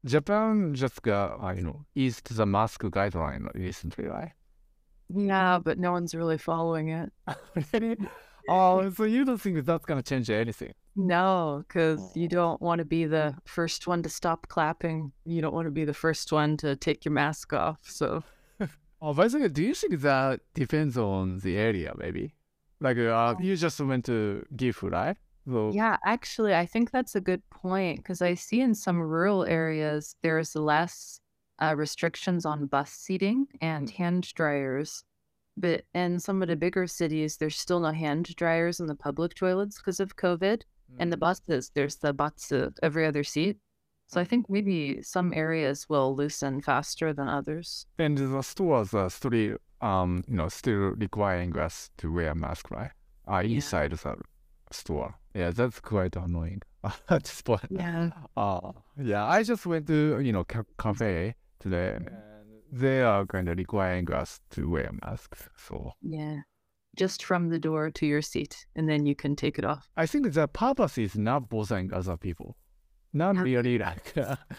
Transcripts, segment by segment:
Japan just got, eased the mask guideline recently, right? Yeah, but no one's really following it. Really? Oh, so you don't think that's gonna change anything? No, because you don't want to be the first one to stop clapping. You don't want to be the first one to take your mask off. So, Oh, by the way, do you think that depends on the area, maybe? Like, you just went to Gifu, right? So, yeah, actually, I think that's a good point because I see in some rural areas there's less restrictions on bus seating and hand dryers. But in some of the bigger cities, there's still no hand dryers in the public toilets because of COVID. And the buses, there's the batsu every other seat. So I think maybe some areas will loosen faster than others. and the stores are still, still requiring us to wear mask, right? Yeah. Inside the store. Yeah, that's quite annoying at this point. Yeah. Yeah, I just went to, cafe today, and they are kind of requiring us to wear masks. So Yeah. Just from the door to your seat, and then you can take it off. I think the purpose is not bothering other people, not Yeah. really like,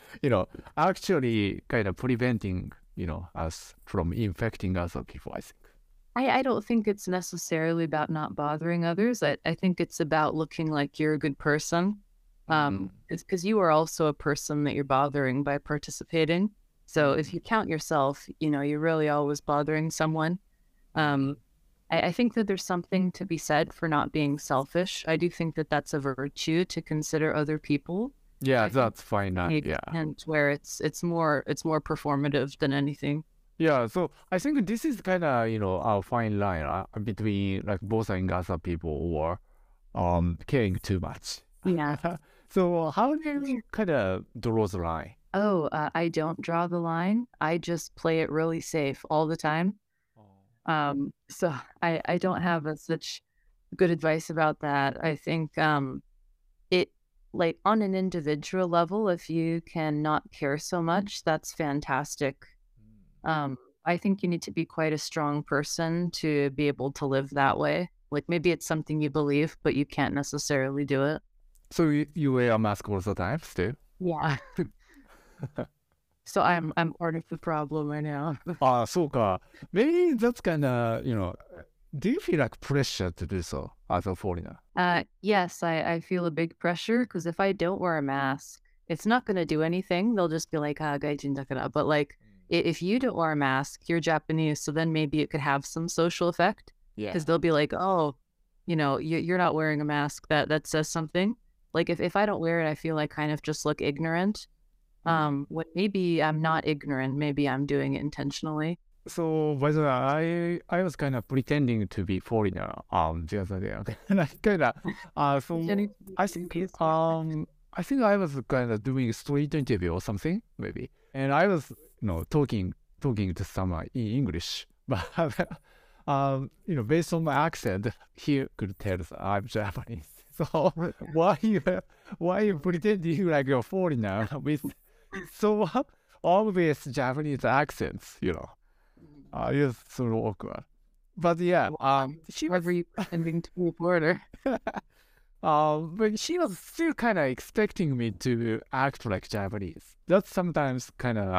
actually kind of preventing, us from infecting other people, I think. I don't think it's necessarily about not bothering others. I think it's about looking like you're a good person. It's because you are also a person that you're bothering by participating. So if you count yourself, you're really always bothering someone. Um, I think that there's something to be said for not being selfish. I do think that that's a virtue to consider other people. Yeah, I think that's fine. Yeah. and where it's more performative than anything. Yeah, so I think this is kind of, our fine line between like bothering other people or caring too much. Yeah. So how do you kind of draw the line? Oh, I don't draw the line. I just play it really safe all the time. So I don't have such good advice about that. I think it like on an individual level, if you can not care so much, that's fantastic. Um, I think you need to be quite a strong person to be able to live that way. Like maybe it's something you believe, but you can't necessarily do it. So you wear a mask all the time still? Yeah. So I'm part of the problem right now. そうか。Maybe that's kind of, do you feel like pressure to do so as a foreigner? Yes, I feel a big pressure because if I don't wear a mask, it's not going to do anything. They'll just be like, ah, gaijin da kara. But like, if you don't wear a mask, you're Japanese, so then maybe it could have some social effect Yeah. because they'll be like, oh, you're not wearing a mask. That says something. Like if I don't wear it, I feel like kind of just look ignorant. What maybe I'm not ignorant. Maybe I'm doing it intentionally. So by the way, I was kind of pretending to be foreigner the other day. Okay? Like kind of so I think I think I was kind of doing a street interview or something maybe, and I was talking to someone in English, but based on my accent, he could tell that I'm Japanese. So why you pretending like you're a foreigner with so obvious Japanese accents, it's sort of awkward. But yeah, she was, Whoever you pretending to be a border. but she was still kind of expecting me to act like Japanese. That's sometimes kind of,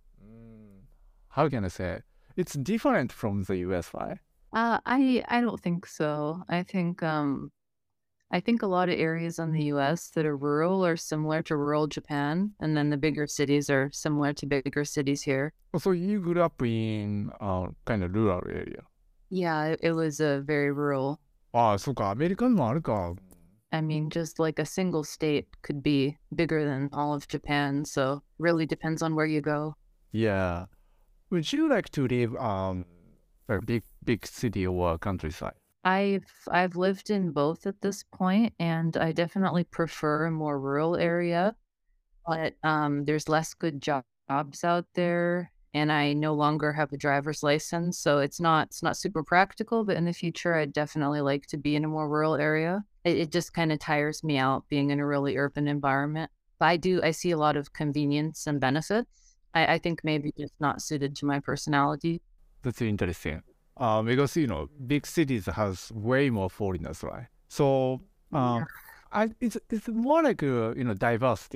how can I say it? It's different from the US, right? I don't think so. I think a lot of areas in the US that are rural are similar to rural Japan, and then the bigger cities are similar to bigger cities here. So you grew up in kind of rural area. Yeah, it was a very rural. ああ、そうか、アメリカにもあるか。 I mean, just like a single state could be bigger than all of Japan, so really depends on where you go. Yeah. Would you like to live a big city or countryside? I've lived in both at this point, and I definitely prefer a more rural area. But there's less good jobs out there, and I no longer have a driver's license, so it's not super practical. But in the future, I'd definitely like to be in a more rural area. It just kind of tires me out being in a really urban environment. But I see a lot of convenience and benefits. I think maybe just not suited to my personality. That's interesting. Because big cities has way more foreigners, right? So Yeah. it's more like diversity.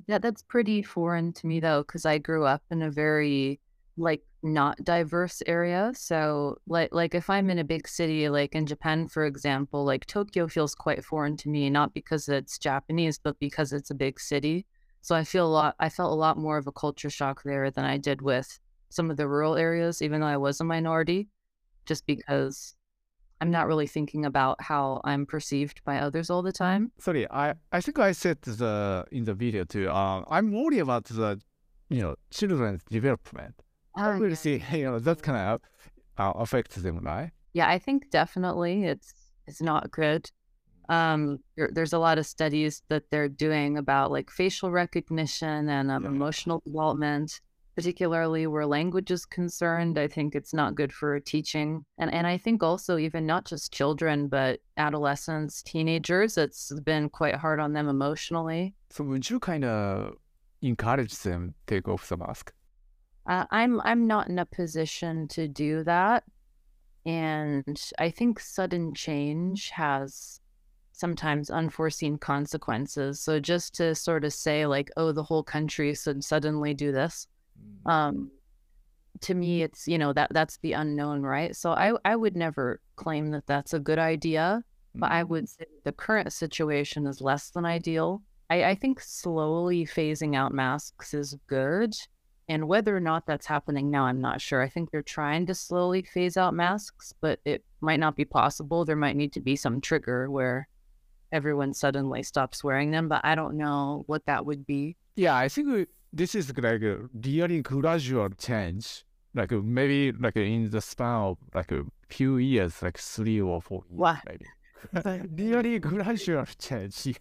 Yeah, that's pretty foreign to me though, because I grew up in a very like not diverse area. So like if I'm in a big city, like in Japan, for example, like Tokyo feels quite foreign to me, not because it's Japanese, but because it's a big city. So I felt a lot more of a culture shock there than I did with some of the rural areas, even though I was a minority, just because I'm not really thinking about how I'm perceived by others all the time. Sorry, I think I said in the video too. I'm worried about the children's development. Oh, We'll yeah. see. That kind of affects them, right? Yeah, I think definitely it's not good. There's a lot of studies that they're doing about like facial recognition and Yeah. emotional development, particularly where language is concerned. I think it's not good for teaching, and I think also even not just children, but adolescents, teenagers. It's been quite hard on them emotionally. So would you kind of encourage them take off the mask? I'm not in a position to do that, and I think sudden change has sometimes unforeseen consequences. So just to sort of say like, oh, the whole country should suddenly do this, um, to me, it's that's the unknown, right? So I would never claim that that's a good idea, but I would say the current situation is less than ideal. I think slowly phasing out masks is good. And whether or not that's happening now, I'm not sure. I think they're trying to slowly phase out masks, but it might not be possible. There might need to be some trigger where everyone suddenly stops wearing them, but I don't know what that would be. Yeah, I think this is like a really gradual change. Like maybe like in the span of like a few years, like 3 or 4 years, Wow. maybe. Really gradual change.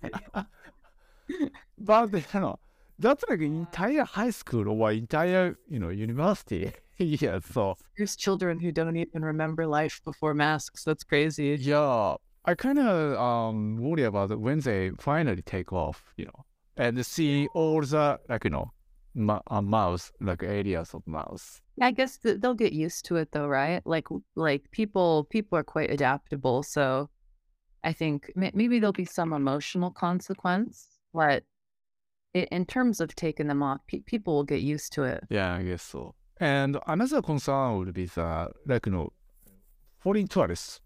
But that's like entire high school or entire university. Yeah, so There's children who don't even remember life before masks. That's crazy. yeah, I kind of worry about when they finally take off, and see all the like mouse like areas of mouse. I guess they'll get used to it though, right? Like people are quite adaptable, so I think maybe there'll be some emotional consequence, but in terms of taking them off, people will get used to it. Yeah, I guess so. And another concern would be that like foreign tourists,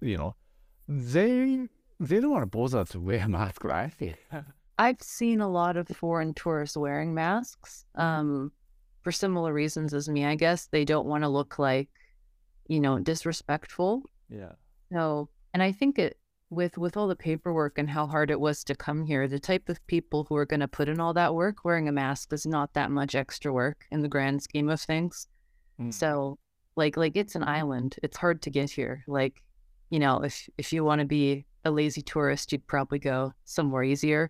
they don't want to bother to wear a mask, right? I've seen a lot of foreign tourists wearing masks, for similar reasons as me. I guess they don't want to look like, disrespectful. Yeah. So, and I think with all the paperwork and how hard it was to come here, the type of people who are going to put in all that work, wearing a mask is not that much extra work in the grand scheme of things. So, like it's an island. It's hard to get here. Like, if you want to be a lazy tourist, you'd probably go somewhere easier.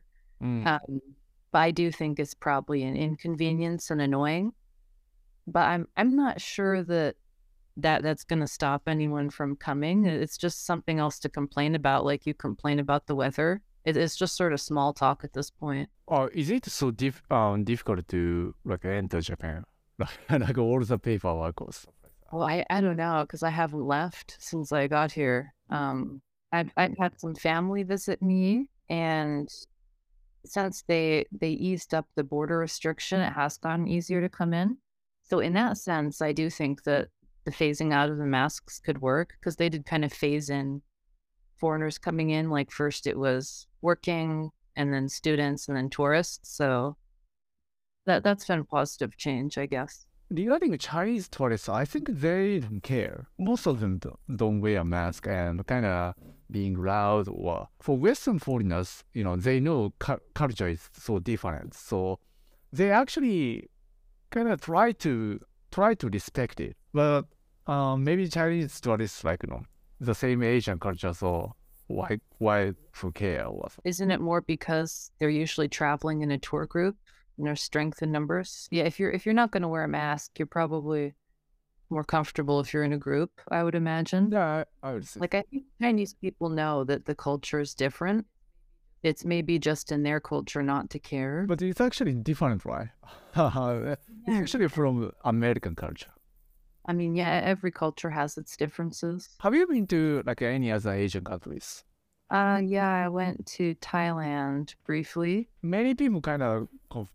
But I do think it's probably an inconvenience and annoying. But I'm not sure that's going to stop anyone from coming. It's just something else to complain about. Like you complain about the weather. It's just sort of small talk at this point. Or is it so difficult to like enter Japan? Like all the paperwork or stuff like that. Well, I don't know because I haven't left since I got here. I've had some family visit me, and since they eased up the border restriction, it has gotten easier to come in. So in that sense, I do think that the phasing out of the masks could work because they did kind of phase in foreigners coming in. Like first it was working and then students and then tourists. So that's been a positive change, I guess. Regarding Chinese tourists, I think they don't care. Most of them don't wear a mask and kind of being loud. Or for Western foreigners, they know culture is so different, so they actually kind of try to respect it. But maybe Chinese tourists like the same Asian culture, so why who care or something? Isn't it more because they're usually traveling in a tour group? Strength in numbers. Yeah, if you're not going to wear a mask, you're probably more comfortable if you're in a group, I would imagine. Yeah, I would say. Like I think Chinese people know that the culture is different. It's maybe just in their culture not to care. But it's actually different, right? It's actually from American culture. I mean, yeah, every culture has its differences. Have you been to like any other Asian countries? Yeah, I went to Thailand briefly. Many people kind of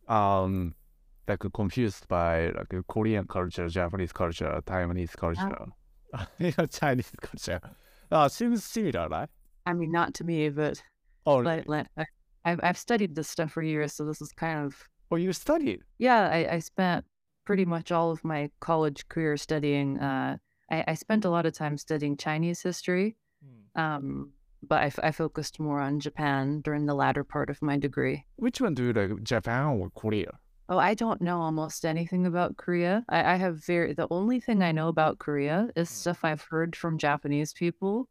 like confused by like Korean culture, Japanese culture, Taiwanese Uh, culture, Chinese culture. Seems similar, right? I mean, not to me, but Oh, like, really? I've studied this stuff for years, so this is kind of Oh, you studied? yeah. I spent pretty much all of my college career studying. I spent a lot of time studying Chinese history, Hmm. but I focused more on Japan during the latter part of my degree. Which one do you like, Japan or Korea? Oh, I don't know almost anything about Korea. I have the only thing I know about Korea is Hmm. stuff I've heard from Japanese people.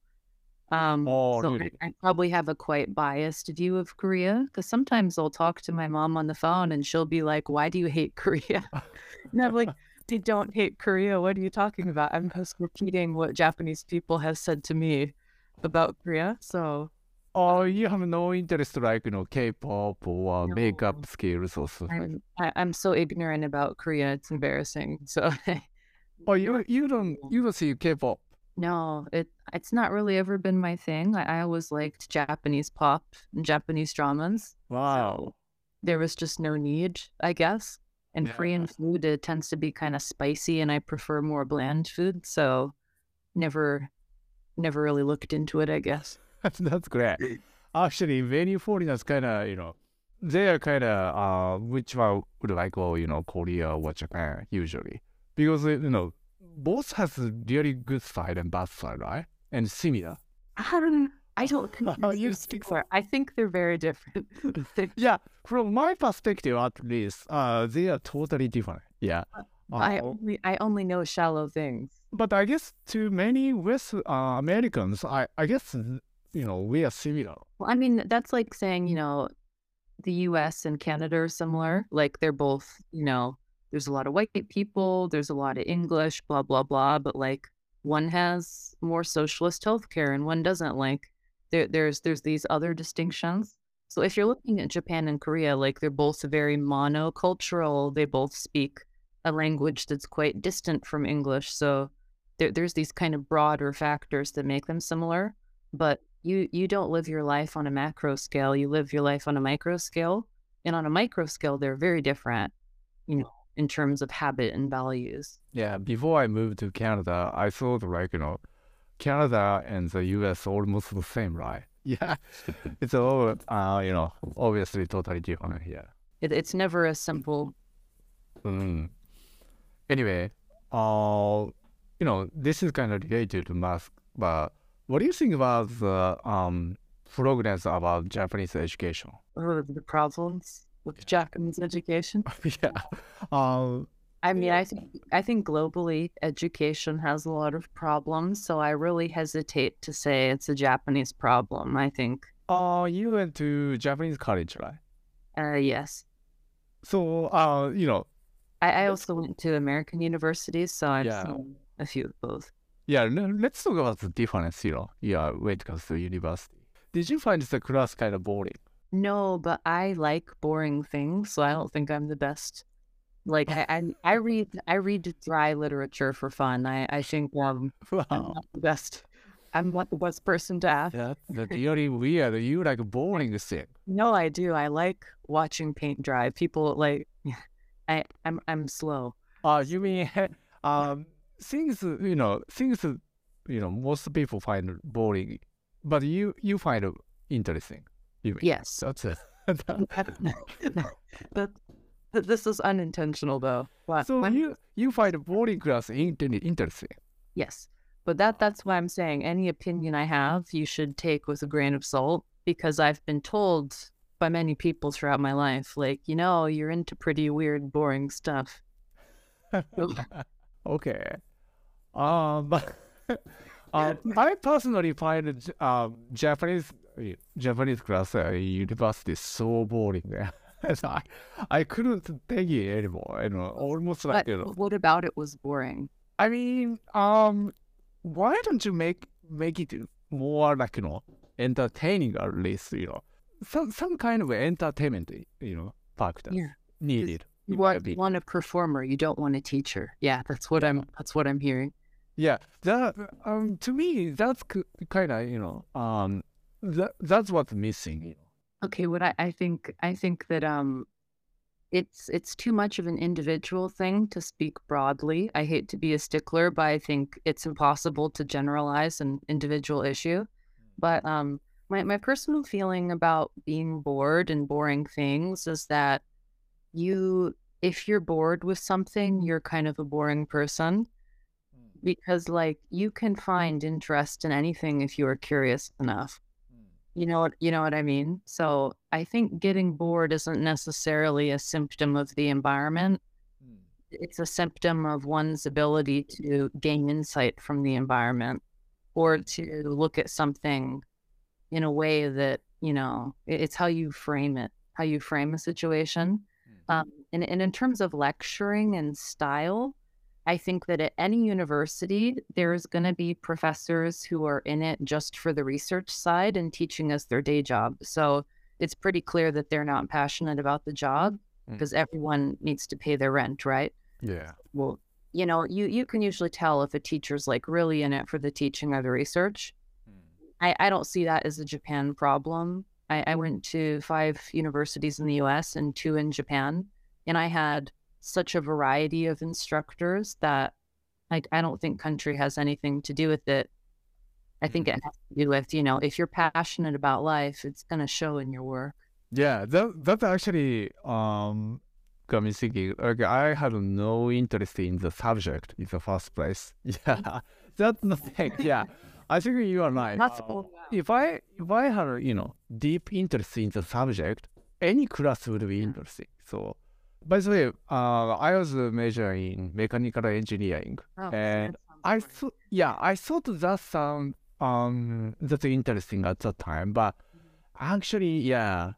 Oh, So really? I probably have a quite biased view of Korea because sometimes I'll talk to my mom on the phone and she'll be like, "Why do you hate Korea?" And I'm like, "I don't hate Korea. What are you talking about? I'm just repeating what Japanese people have said to me about Korea." So Oh, you have no interest like, K-pop or makeup no, skills or something like that. I'm so ignorant about Korea. It's embarrassing. So Oh, you don't see K-pop. no, it's not really ever been my thing. I always liked Japanese pop and Japanese dramas. Wow. So there was just no need, I guess. And Yeah. Korean food, it tends to be kind of spicy and I prefer more bland food. So never never really looked into it, I guess. That's great. Actually, many foreigners kind of, they are kind of, which one would like go, Korea or Japan usually. Because, both has a really good side and bad side, right? And similar. I don't Oh, think you they're speak similar. I think they're very different. Yeah, from my perspective at least, they are totally different. Yeah. I Uh, only I only know shallow things. but I guess to many West Americans, I guess, we are similar. Well, I mean, that's like saying, the US and Canada are similar. Like they're both, there's a lot of white people, there's a lot of English, blah, blah, blah. But like one has more socialist healthcare and one doesn't. Like there's these other distinctions. So if you're looking at Japan and Korea, like they're both very monocultural. They both speak a language that's quite distant from English. So there's these kind of broader factors that make them similar. But you don't live your life on a macro scale, you live your life on a micro scale. And on a micro scale, they're very different, in terms of habit and values. Yeah, before I moved to Canada, I thought like, Canada and the US almost the same, right? Yeah. It's all, obviously totally different. Yeah. It's never as simple. Mm. Anyway, this is kind of related to math, but what do you think about the progress about Japanese education? The problems with Japanese education. Yeah. Um, I mean, I think globally education has a lot of problems, so I really hesitate to say it's a Japanese problem. I think, you went to Japanese college, right? yes. So, I let's also went to American universities, so I've yeah, seen a few of both. yeah. Let's talk about the difference. Yeah, when it comes to university. Did you find the class kind of boring? No, but I like boring things, so I don't think I'm the best. Like I read dry literature for fun. I think I'm Wow, not the best. I'm not the best person to ask. that's really weird. You like boring thing. No, I do. I like watching paint dry. People like I'm slow. You mean um things most people find boring, but you find it interesting. You mean Yes. that's it. But this is unintentional though. What So when you find boring class interesting. yes. But that's why I'm saying any opinion I have, you should take with a grain of salt because I've been told by many people throughout my life, like, you're into pretty weird, boring stuff. So, Okay. But I personally find Japanese class at university so boring. And I couldn't take it anymore. Almost like but what about it was boring? I mean, why don't you make it more like entertaining at least, some kind of entertainment, factor Yeah. 'Cause needed You in my want, you opinion. want a performer, you don't want a teacher. Yeah, that's what I'm hearing. Yeah, that to me that's kind of that's what's missing. Okay, what I think that it's too much of an individual thing to speak broadly. I hate to be a stickler, but I think it's impossible to generalize an individual issue. But my personal feeling about being bored and boring things is that you if you're bored with something, you're kind of a boring person because like you can find interest in anything if you are curious enough. You know what I mean? So I think getting bored isn't necessarily a symptom of the environment. It's a symptom of one's ability to gain insight from the environment or to look at something in a way that, it's how you frame it, how you frame a situation. And in terms of lecturing and style, I think that at any university, there's going to be professors who are in it just for the research side and teaching us their day job. So it's pretty clear that they're not passionate about the job because everyone needs to pay their rent, right? Yeah. Well, you can usually tell if a teacher's like really in it for the teaching or the research. I don't see that as a Japan problem. I went to 5 universities in the US and 2 in Japan, and I had such a variety of instructors that I don't think country has anything to do with it. I think it has to do with, if you're passionate about life, it's going to show in your work. Yeah, that actually got me thinking. Like I had no interest in the subject in the first place. Yeah, that's the thing. Yeah, I think you are right. That's cool. If I had deep interest in the subject, any class would be interesting. So, by the way, I was majoring in mechanical engineering, Oh, and that sounds great. I thought that sound that's interesting at that time, but actually, yeah,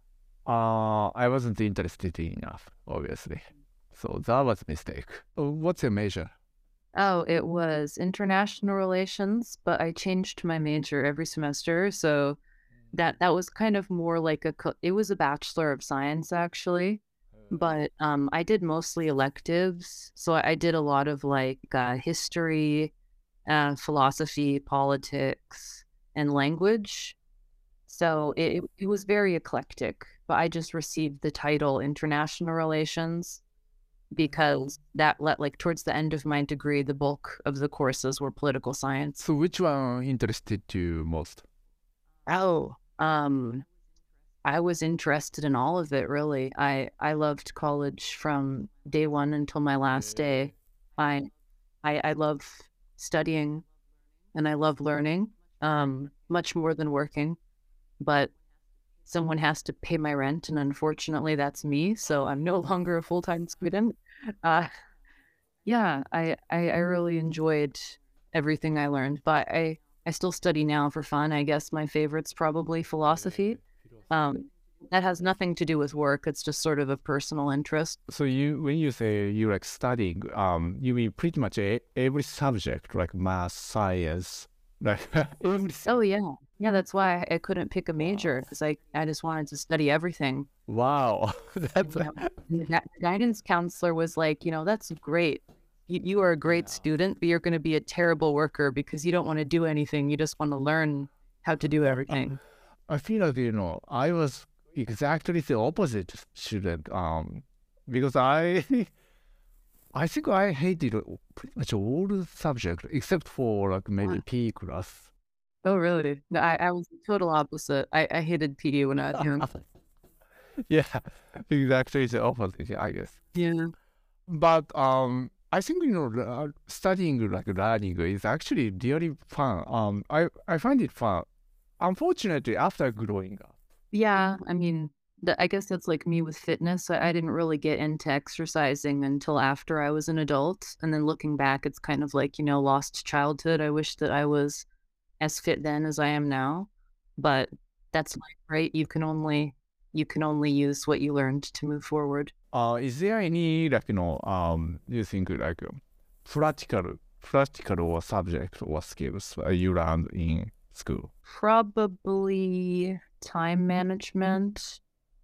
I wasn't interested enough, obviously. So that was a mistake. What's your major? Oh, it was international relations, but I changed my major every semester. So that was kind of more like it was a Bachelor of Science actually, but I did mostly electives. So I did a lot of like history, philosophy, politics, and language. So it was very eclectic, but I just received the title International Relations because that let like towards the end of my degree, the bulk of the courses were political science. So which one interested you most? Oh, I was interested in all of it really. I loved college from day one until my last day. I I love studying and I love learning, much more than working, but someone has to pay my rent, and unfortunately, that's me. So I'm no longer a full-time student. Uh, yeah, I really enjoyed everything I learned, but I still study now for fun. I guess my favorite's probably philosophy. Um, that has nothing to do with work. It's just sort of a personal interest. So when you say you like studying, you mean pretty much every subject like math, science, like every. Oh yeah, yeah. That's why I couldn't pick a major because I just wanted to study everything. Wow, that's You know, the guidance counselor was like, that's great. You are a great student, but you're going to be a terrible worker because you don't want to do anything. You just want to learn how to do everything. I feel like I was exactly the opposite student. Because I think I hated pretty much all the subjects except for like maybe Wow. PE class. Oh, really? No, I was the total opposite. I hated PE when I was young. Yeah, exactly the opposite, I guess. Yeah. But I think studying like learning is actually really fun. I find it fun. Unfortunately, after growing up. Yeah. I mean, I guess that's like me with fitness. I didn't really get into exercising until after I was an adult. And then looking back, it's kind of like, lost childhood. I wish that I was as fit then as I am now. But that's life, right? You can only use what you learned to move forward. Is there any like you think like practical or subject or skills you learned in school? Probably time management.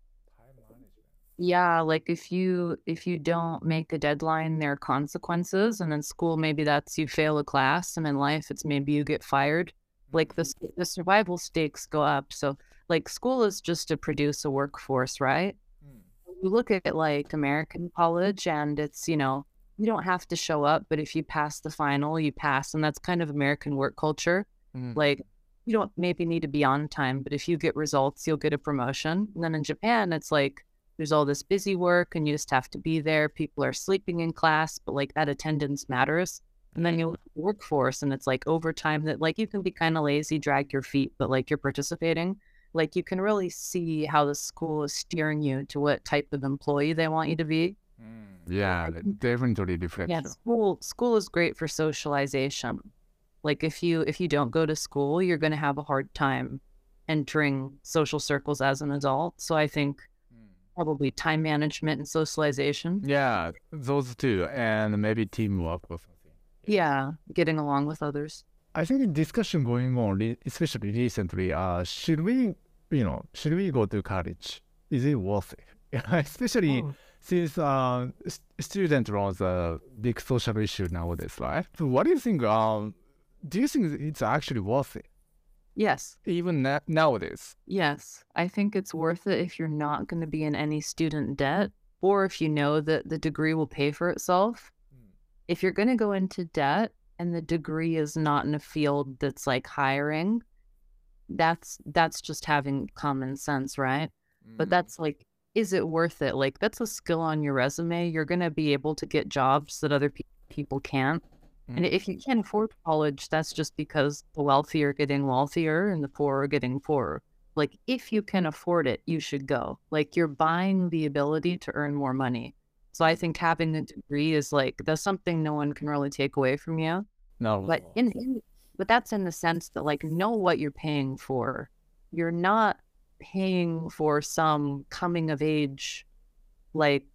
Yeah, like if you don't make a deadline, there are consequences. And in school, maybe that's you fail a class, and in life, it's maybe you get fired. Like the survival stakes go up. So like school is just to produce a workforce, right? You look at like American college and it's, you don't have to show up, but if you pass the final, you pass. And that's kind of American work culture. Like you don't maybe need to be on time, but if you get results, you'll get a promotion. And then in Japan, it's like there's all this busy work and you just have to be there. People are sleeping in class, but like that attendance matters. And then you look at the workforce and it's like overtime that like you can be kind of lazy, drag your feet, but like you're participating. Like you can really see how the school is steering you to what type of employee they want you to be. Yeah, that definitely Yeah, reflection. school is great for socialization. Like if you don't go to school, you're going to have a hard time entering social circles as an adult. So I think probably time management and socialization. Yeah, those two, and maybe teamwork or something. Yeah, getting along with others. I think discussion going on, especially recently, should we go to college? Is it worth it? Especially since student loans are a big social issue nowadays, right? So what do you think? Do you think it's actually worth it, Yes. even nowadays? Yes. I think it's worth it if you're not going to be in any student debt or if you know that the degree will pay for itself. If you're going to go into debt and the degree is not in a field that's like hiring, that's just having common sense, right? But that's like, is it worth it? Like that's a skill on your resume. You're going to be able to get jobs that other people can't. And if you can't afford college, that's just because the wealthy are getting wealthier and the poor are getting poorer. Like if you can afford it, you should go. Like you're buying the ability to earn more money. So I think having a degree is like that's something no one can really take away from you. No. But but that's in the sense that like know what you're paying for. You're not paying for some coming of age like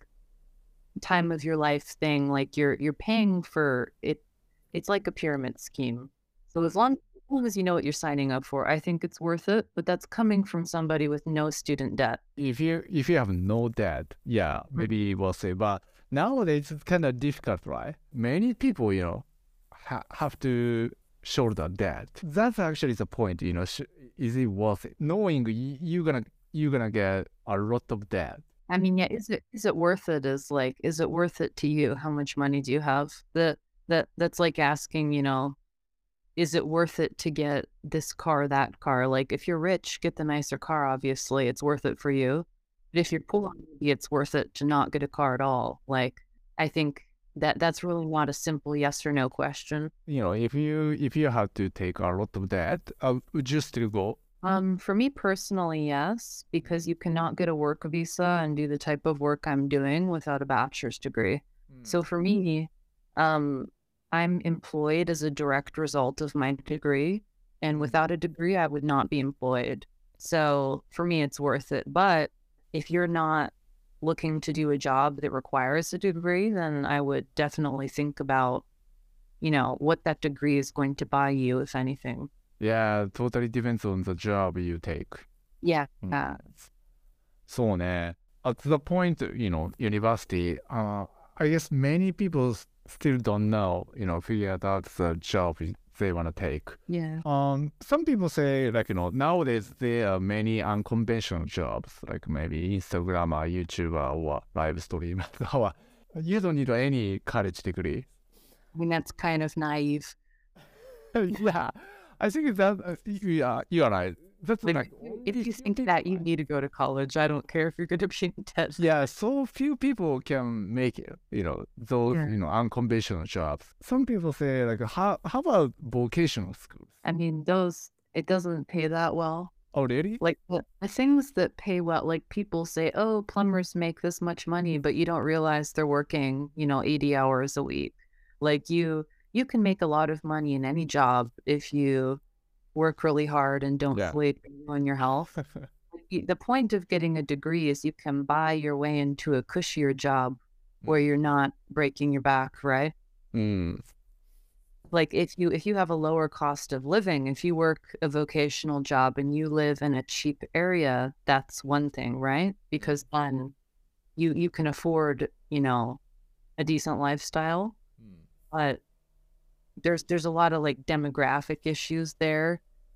time of your life thing. Like you're paying for it. It's like a pyramid scheme. So as long as you know what you're signing up for, I think it's worth it. But that's coming from somebody with no student debt. If you have no debt, yeah, maybe we'll say. But nowadays it's kind of difficult, right? Many people, have to shoulder debt. That's actually the point. Is it worth it? Knowing you're gonna get a lot of debt. I mean, yeah, is it worth it? Is it worth it to you? How much money do you have? That's like asking, is it worth it to get this car, that car? Like if you're rich, get the nicer car, obviously. It's worth it for you. But if you're poor, maybe it's worth it to not get a car at all. Like I think that's really not a simple yes or no question. If you have to take a lot of debt, would you still go? For me personally, yes, because you cannot get a work visa and do the type of work I'm doing without a bachelor's degree. So for me, I'm employed as a direct result of my degree, and without a degree, I would not be employed. So for me, it's worth it. But if you're not looking to do a job that requires a degree, then I would definitely think about, what that degree is going to buy you, if anything. Yeah, totally depends on the job you take. Yeah. そうね。At the point, university, I guess many people still don't know, figure out the job they want to take. Yeah. Some people say, like, nowadays there are many unconventional jobs, like maybe Instagrammer, YouTuber, or live streamer. You don't need any college degree. I mean, that's kind of naive. Yeah, I think that you are right. That's like if you think that you need to go to college, I don't care if you're going to be in debt. yeah, so few people can make it, those, unconventional jobs. Some people say, like, how about vocational schools? I mean, it doesn't pay that well. Oh, really? Like the things that pay well, like people say, oh, plumbers make this much money, but you don't realize they're working, 80 hours a week. Like you can make a lot of money in any job if you work really hard and don't sleep and ruin your health. The point of getting a degree is you can buy your way into a cushier job where you're not breaking your back, right? Like if you have a lower cost of living, if you work a vocational job and you live in a cheap area, that's one thing, right? Because then you can afford, a decent lifestyle. But there's a lot of like demographic issues there.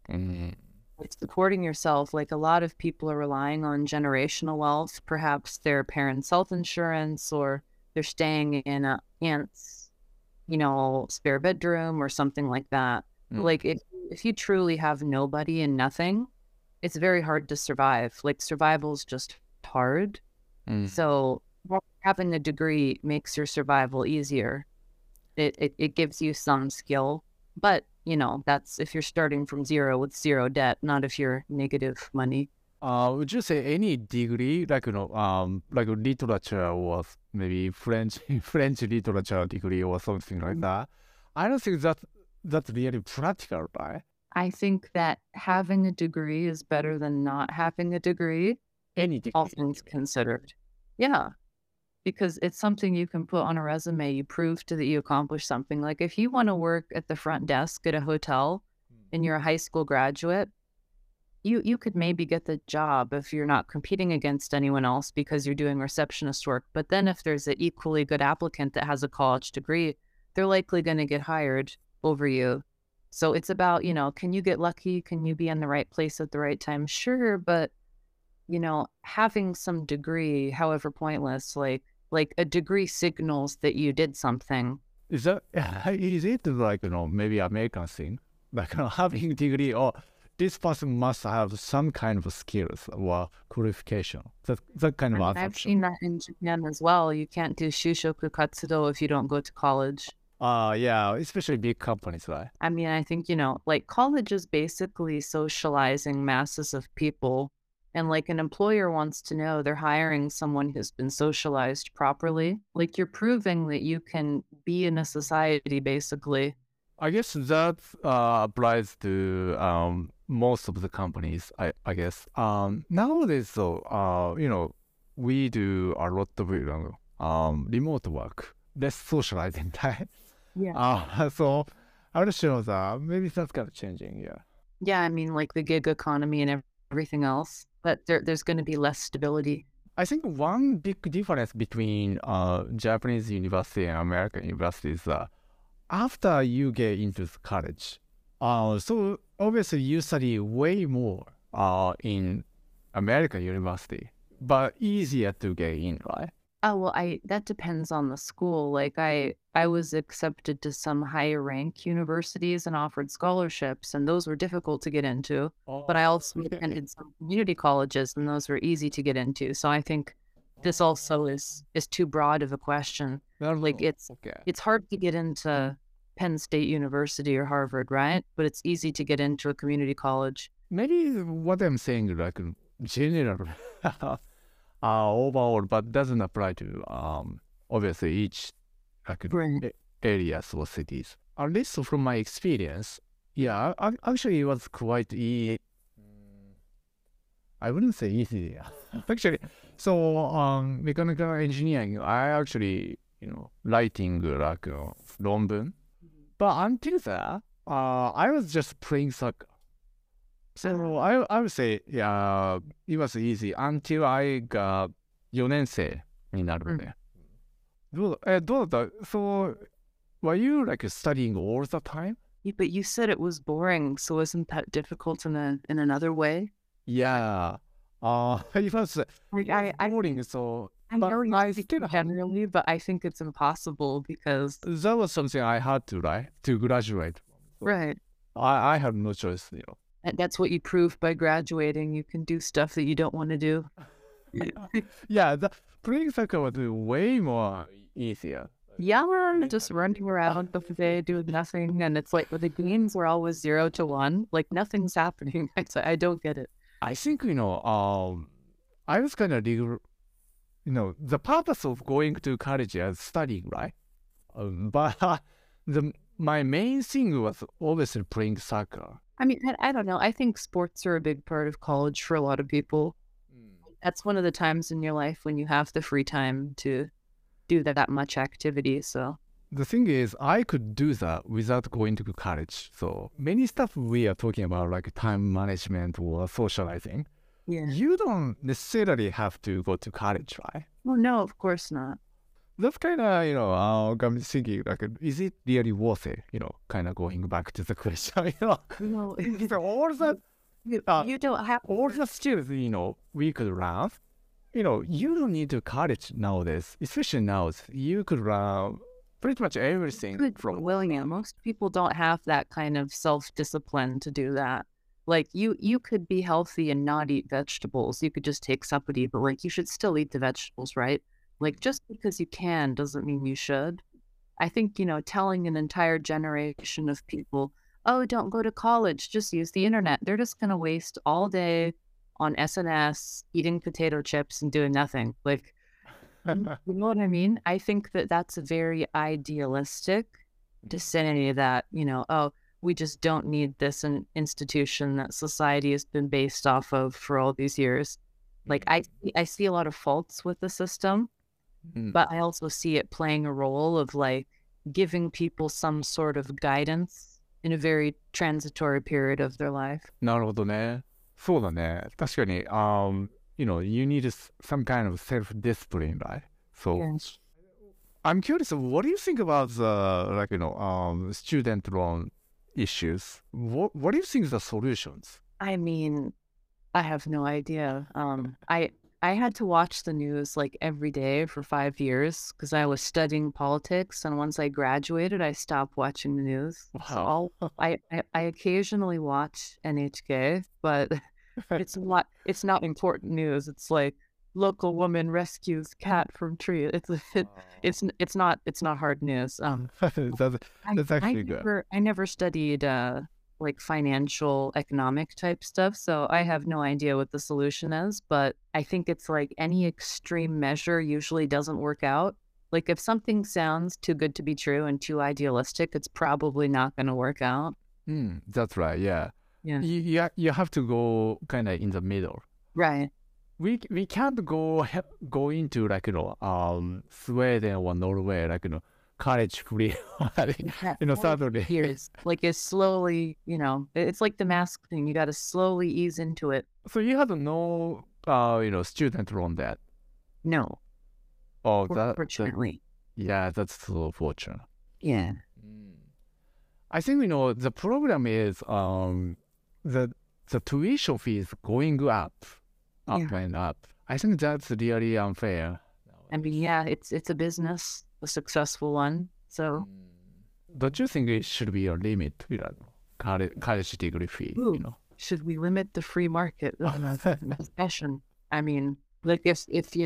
Mm. Like supporting yourself. Like a lot of people are relying on generational wealth, perhaps their parents' health insurance, or they're staying in a aunt's, spare bedroom or something like that. Like if you truly have nobody and nothing, it's very hard to survive. Like survival is just hard. Mm. So having a degree makes your survival easier. It gives you some skill, but that's if you're starting from zero with zero debt, not if you're negative money. Would you say any degree, like like literature or maybe French French literature degree or something like that? I don't think that's really practical, right? I think that having a degree is better than not having a degree, Any degree. all things considered. Yeah, because it's something you can put on a resume. You prove to that you accomplished something. Like if you want to work at the front desk at a hotel and you're a high school graduate, you could maybe get the job if you're not competing against anyone else because you're doing receptionist work. But then if there's an equally good applicant that has a college degree, they're likely going to get hired over you. So it's about, can you get lucky? Can you be in the right place at the right time? Sure, but having some degree, however pointless, like a degree signals that you did something. Is it like maybe American thing, like having degree or this person must have some kind of skills or qualification. That kind of I've assumption. seen that in Japan as well. You can't do shushoku katsudo if you don't go to college. Yeah, especially big companies, right? I mean, I think, like college is basically socializing masses of people. And like an employer wants to know they're hiring someone who's been socialized properly. Like you're proving that you can be in a society, basically. I guess that applies to most of the companies. I guess nowadays, though, we do a lot of remote work, less socializing time. Yeah. So I would show that maybe that's kind of changing. Yeah. Yeah, I mean, like the gig economy and everything else, but there's going to be less stability. I think one big difference between Japanese university and American university is after you get into college, so obviously you study way more in American university, but easier to get in, right? Oh, well, that depends on the school. Like I was accepted to some higher rank universities and offered scholarships, and those were difficult to get into. But I also attended some community colleges, and those were easy to get into. So I think this also is too broad of a question. Like it's hard to get into Penn State University or Harvard, right? But it's easy to get into a community college. Maybe what I'm saying like general overall, but doesn't apply to obviously each like areas or cities. At least from my experience, yeah, actually it was quite easy. I wouldn't say easy. Actually, so mechanical engineering, I actually writing like論文. But until that, I was just playing soccer. So I would say, yeah, it was easy until I got 4年生になるので。どうだった? So, were you like studying all the time? Yeah, but you said it was boring, so isn't that difficult in another way? Yeah. It was boring, so... I know you speak generally, but I think it's impossible because... That was something I had to, right? To graduate. Right. I had no choice, And that's what you prove by graduating. You can do stuff that you don't want to do. Yeah, playing soccer was way more easier. Yeah, just running around the day doing nothing. And it's like, the games were always 0 to 1. Like, nothing's happening. I don't get it. I think, I was kind of, the purpose of going to college is studying, right? But my main thing was obviously playing soccer. I mean, I don't know. I think sports are a big part of college for a lot of people. That's one of the times in your life when you have the free time to do that much activity. So the thing is, I could do that without going to college. So many stuff we are talking about, like time management or socializing, you don't necessarily have to go to college, right? Well, no, of course not. that's kind of, got me thinking, like, is it really worth it? Kind of going back to the question, No, So all the, you don't have. all the skills, we could learn, you don't need to college nowadays, especially now. You could learn pretty much everything Good from willing it. Most people don't have that kind of self-discipline to do that. Like you could be healthy and not eat vegetables. You could just take supplement, but like you should still eat the vegetables, right? Like just because you can doesn't mean you should. I think, telling an entire generation of people, oh, don't go to college, just use the internet. They're just going to waste all day on SNS, eating potato chips and doing nothing. Like, you know what I mean? I think that that's very idealistic to say that, oh, we just don't need this institution that society has been based off of for all these years. Like, I see a lot of faults with the system, but I also see it playing a role of like giving people some sort of guidance in a very transitory period of their life. なるほどね。そうだね。確かに、you need some kind of self-discipline, right? So, Yes. I'm curious, what do you think about the, like, student loan issues? What do you think the solutions? I mean, I have no idea. I had to watch the news like every day for 5 years because I was studying politics, and once I graduated, I stopped watching the news. So Wow. I occasionally watch NHK, but it's not important news. It's like local woman rescues cat from tree. It's not hard news. That's, that's actually good. I never studied like financial economic type stuff, so I have no idea what the solution is, but I think it's like any extreme measure usually doesn't work out. Like if something sounds too good to be true and too idealistic, it's probably not going to work out. That's right, yeah. Yeah. You have to go kind of in the middle. Right. We can't go into like Sweden or Norway, like college free, suddenly. Years. Like it's slowly, it's like the mask thing. You got to slowly ease into it. So you had no student loan debt. No, Oh, that fortunately. yeah, that's so fortunate. Yeah. I think the problem is the tuition fee is going up Yeah. and up. I think that's really unfair. I mean, yeah, it's a business, a successful one. So, Don't you think it should be a limit, college degree fee, Ooh. Should we limit the free market fashion? I mean, like if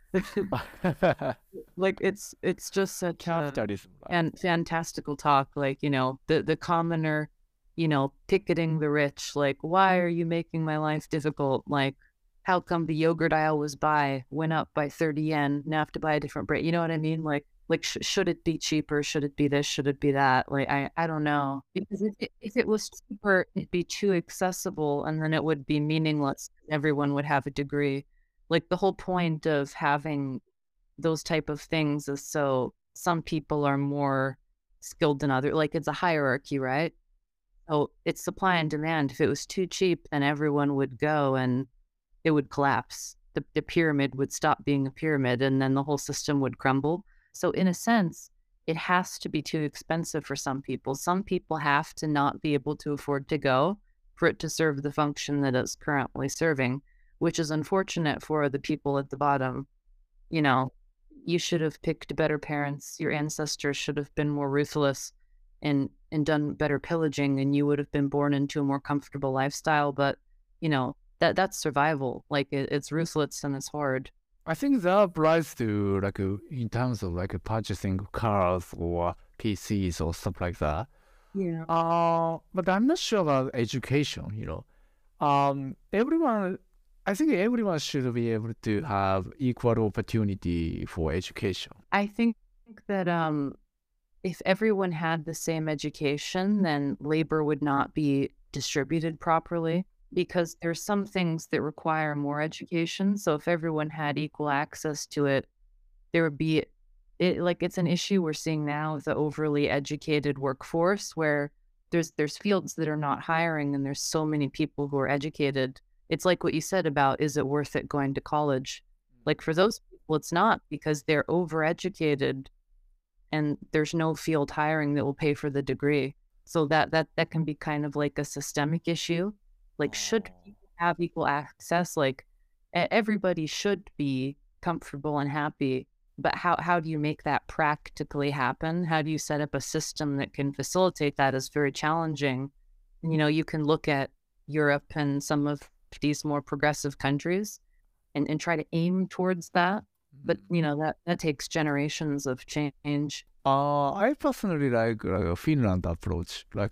like it's just such a Capitalism. and fantastical talk. Like the commoner, picketing the rich. Like, why are you making my life difficult? Like, how come the yogurt I always went up by 30 yen? Now I have to buy a different brand. You know what I mean? Like should it be cheaper? Should it be this? Should it be that? Like, I don't know. Because if it was cheaper, it'd be too accessible and then it would be meaningless. Everyone would have a degree. Like the whole point of having those type of things is so some people are more skilled than others. Like it's a hierarchy, right? So it's supply and demand. If it was too cheap, then everyone would go and it would collapse. The pyramid would stop being a pyramid and then the whole system would crumble. So in a sense, it has to be too expensive for some people. Some people have to not be able to afford to go for it to serve the function that it's currently serving, which is unfortunate for the people at the bottom. You should have picked better parents. Your ancestors should have been more ruthless and done better pillaging, and you would have been born into a more comfortable lifestyle. But, that's survival. Like it's ruthless and it's hard. I think that applies to in terms of purchasing cars or PCs or stuff like that. Yeah. But I'm not sure about education. I think everyone should be able to have equal opportunity for education. I think that if everyone had the same education, then labor would not be distributed properly because there's some things that require more education. So if everyone had equal access to it, there would be it's an issue we're seeing now with the overly educated workforce where there's fields that are not hiring and there's so many people who are educated. It's like what you said about, is it worth it going to college? Like for those Well, it's not because they're overeducated and there's no field hiring that will pay for the degree. So that can be kind of like a systemic issue. Like, should people have equal access? Like, everybody should be comfortable and happy, but how do you make that practically happen? How do you set up a system that can facilitate that is very challenging. You know, you can look at Europe and some of these more progressive countries and try to aim towards that. But, you know, that takes generations of change. I personally like a Finland approach, like,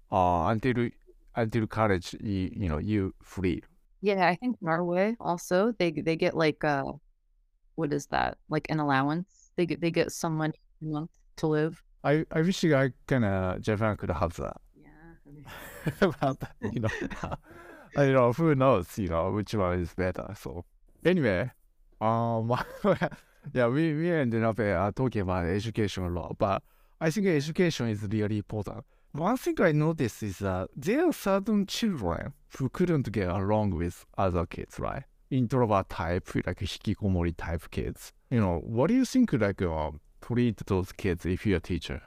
until college, you free. Yeah, I think Norway also, they get like, what is that? Like an allowance. They get some money a month to live. I wish Japan could have that. Yeah. But, who knows, which one is better. So anyway, yeah, we ended up talking about education a lot, but I think education is really important. One thing I noticed is that there are certain children who couldn't get along with other kids, right? Introvert type, like hikikomori type kids. What do you think, like, treat those kids if you're a teacher?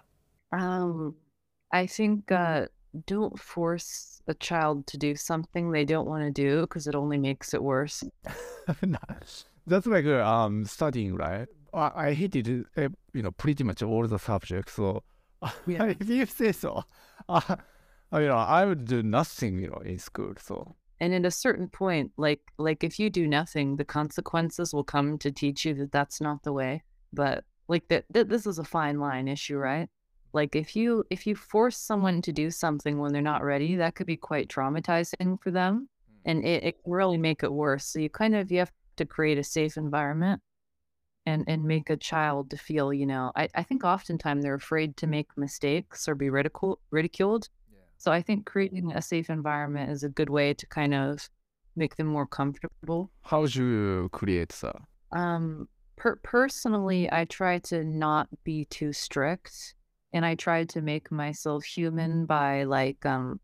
I think don't force a child to do something they don't want to do because it only makes it worse. That's like studying, right? I hated pretty much all the subjects. So Yeah. if you say so, I would do nothing, in school. So And at a certain point, like if you do nothing, the consequences will come to teach you that that's not the way. But like this is a fine line issue, right? Like if you force someone to do something when they're not ready, that could be quite traumatizing for them, and it can really make it worse. So you have to create a safe environment and make a child to feel, I think oftentimes they're afraid to make mistakes or be ridiculed. So I think creating a safe environment is a good way to kind of make them more comfortable. how would you create that? Personally, I try to not be too strict, and I try to make myself human by like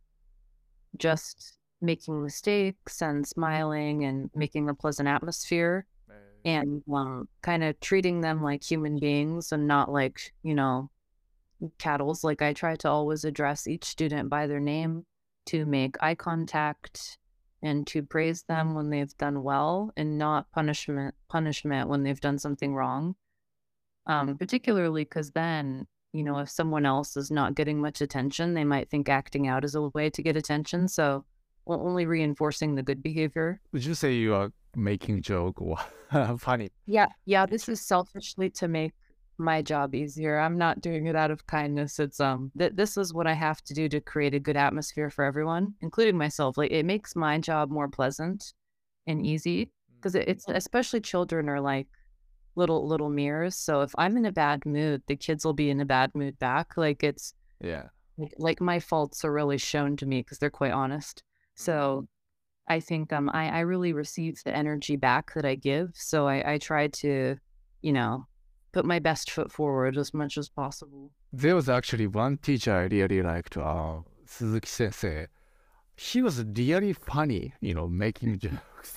just making mistakes and smiling and making a pleasant atmosphere and kind of treating them like human beings and not like, cattles. Like I try to always address each student by their name, to make eye contact and to praise them when they've done well and not punishment when they've done something wrong. Particularly because then, if someone else is not getting much attention, they might think acting out is a way to get attention. So only reinforcing the good behavior. Would you say you are making joke or funny? Yeah, this is selfishly to make my job easier. I'm not doing it out of kindness. It's this is what I have to do to create a good atmosphere for everyone, including myself. Like it makes my job more pleasant and easy because it's especially children are like little mirrors. So if I'm in a bad mood, the kids will be in a bad mood back. Like it's Yeah. like my faults are really shown to me because they're quite honest. So I think I really receive the energy back that I give. So I try to, put my best foot forward as much as possible. There was actually one teacher I really liked, Suzuki Sensei. He was really funny, making jokes.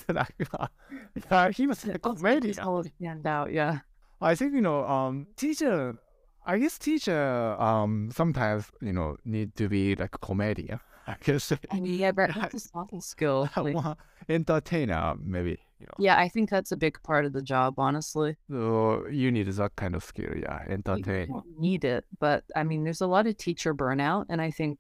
He was a comedian. Stand out, yeah. I think, teacher, I guess teacher sometimes, need to be like a comedian. I guess. Yeah, but that's a soft skill. Entertainer, maybe. Yeah, I think that's a big part of the job, honestly. So you need that kind of skill, yeah, You entertain. don't need it, but I mean, there's a lot of teacher burnout, and I think,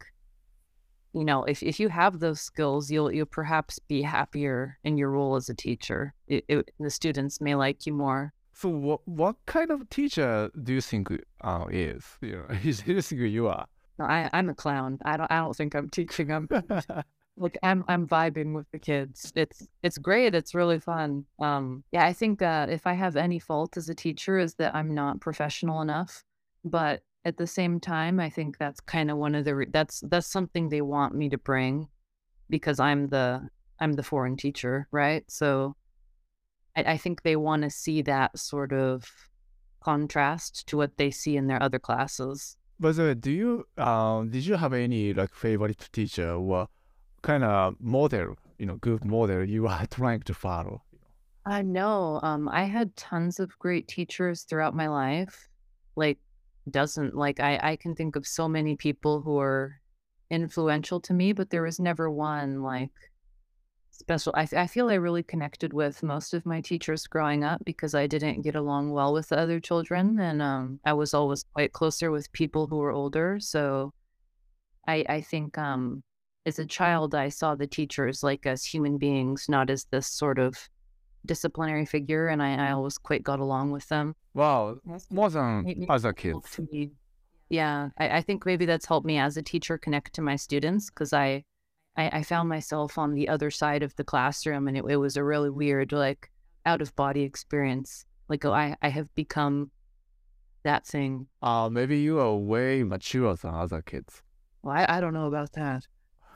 if you have those skills, you'll perhaps be happier in your role as a teacher. The students may like you more. So what kind of teacher do you think is? Do you think you are? No, I'm a clown. I don't think I'm teaching them. Like I'm vibing with the kids. It's great. It's really fun. Yeah, I think if I have any fault as a teacher is that I'm not professional enough. But at the same time, I think that's kind of one of the that's something they want me to bring because I'm the foreign teacher, right? So I think they want to see that sort of contrast to what they see in their other classes. By the way, did you have any like favorite teacher or kind of model, good model you are trying to follow? No, I had tons of great teachers throughout my life. Like, doesn't like I can think of so many people who are influential to me, but there was never one like special. I feel I really connected with most of my teachers growing up because I didn't get along well with the other children, and I was always quite closer with people who were older. So I think as a child, I saw the teachers like as human beings, not as this sort of disciplinary figure, and I always quite got along with them. Wow, more than Made me other able kids. to be yeah, I think maybe that's helped me as a teacher connect to my students because I found myself on the other side of the classroom, and it was a really weird, like, out of body experience. Like, oh, I have become that thing. Maybe you are way mature than other kids. Well, I don't know about that.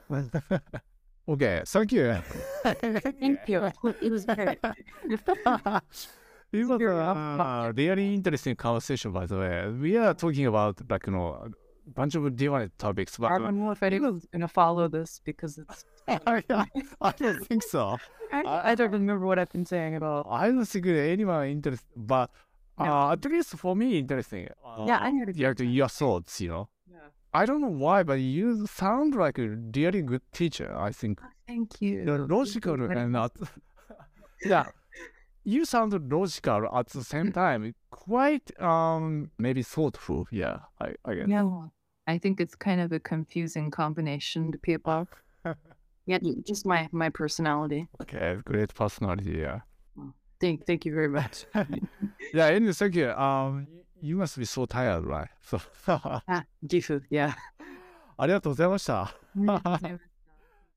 Okay, thank you. Thank you. It was great. It was Very a really interesting conversation, by the way. We are talking about like a bunch of different topics, I but don't know if anyone's gonna follow this because it's. I don't think so. I don't remember what I've been saying about. I don't think anyone interested, but No. at least for me, interesting. Yeah, I heard it. Your thoughts, Yeah. I don't know why, but you sound like a really good teacher. I think Thank you. you're logical and not. Yeah, you sound logical at the same time. Quite maybe thoughtful. Yeah, I guess. No, I think it's kind of a confusing combination to people. Yeah, just my personality. Okay, great personality. Yeah. Well, thank you very much. Yeah. Anyway, thank you. You must be so tired, right? So. Gifu, yeah. ありがとうございました。 ありがとうございます。